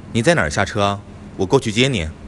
你在哪儿下车啊？我过去接你。